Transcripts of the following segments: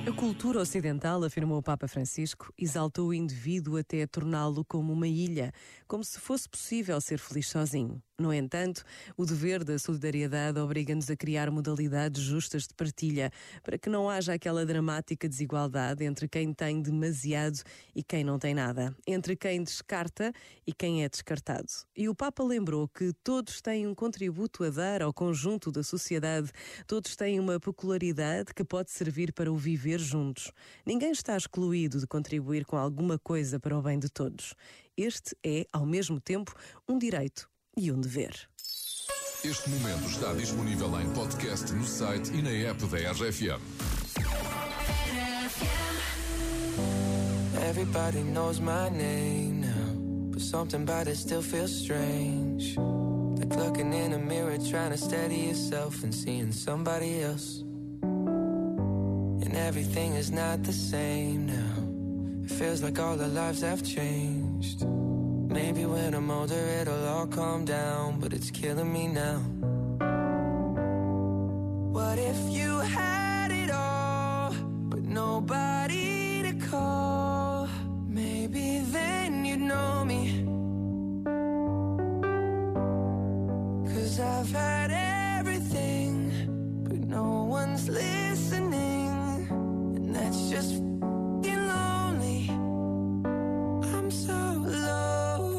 A cultura ocidental, afirmou o Papa Francisco, exaltou o indivíduo até torná-lo como uma ilha, como se fosse possível ser feliz sozinho. No entanto, o dever da solidariedade obriga-nos a criar modalidades justas de partilha, para que não haja aquela dramática desigualdade entre quem tem demasiado e quem não tem nada, entre quem descarta e quem é descartado. E o Papa lembrou que todos têm um contributo a dar ao conjunto da sociedade, todos têm uma peculiaridade que pode servir para o viver juntos. Ninguém está excluído de contribuir com alguma coisa para o bem de todos. Este é, ao mesmo tempo, um direito e um dever. Este momento está disponível em podcast no site e na app da RFM. Everybody knows my name now, but something about it still feels strange. Like looking in a mirror, trying to steady yourself and seeing somebody else. And everything is not the same now. It feels like all our lives have changed. Maybe when I'm older it'll all calm down, but it's killing me now. What if you had it all, but nobody to call? Maybe then you'd know me. 'Cause I've had everything, but no one's listening, and that's just f***ing lonely. I'm so lonely.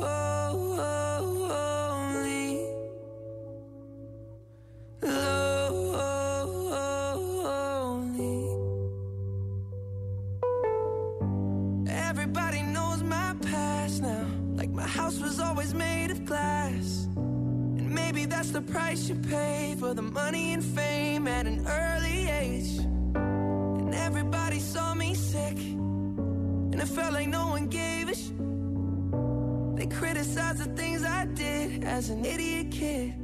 Everybody knows my past now, like my house was always made of glass. And maybe that's the price you pay for the money and fame at an early age. And everybody saw me sick, and it felt like no one gave a shit. They criticized the things I did as an idiot kid.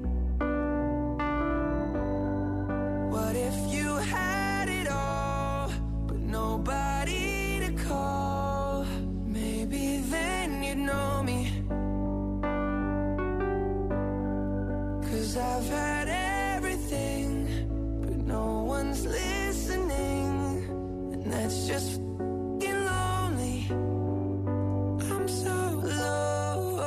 What if you had it all, but nobody to call? Maybe then you'd know me. 'Cause I've had everything, but no one's listening, and that's just f***ing lonely. I'm so lonely.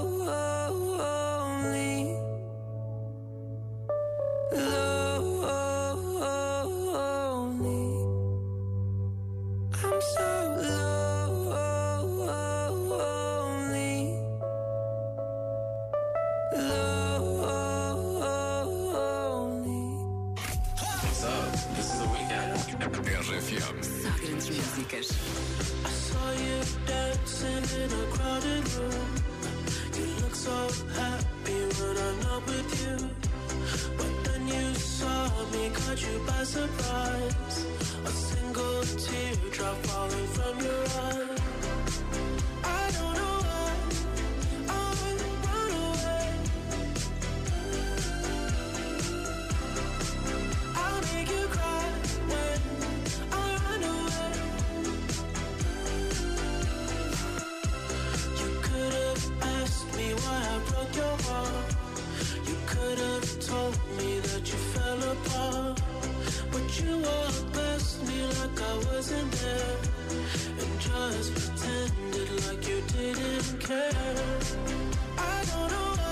Lonely. I'm so lonely. What's up? This is The Weeknd. RFM. Só grandes músicas. I saw you dancing in a crowded room. You look so happy when I'm not with you. But then you saw me, caught you by surprise. A single teardrop falling from your eye. I don't know why I run away. I'll make you cry when I run away. You could have asked me why I broke your heart. You could have told me that you fell apart. But you walked past me like I wasn't there, and just pretended like you didn't care. I don't know why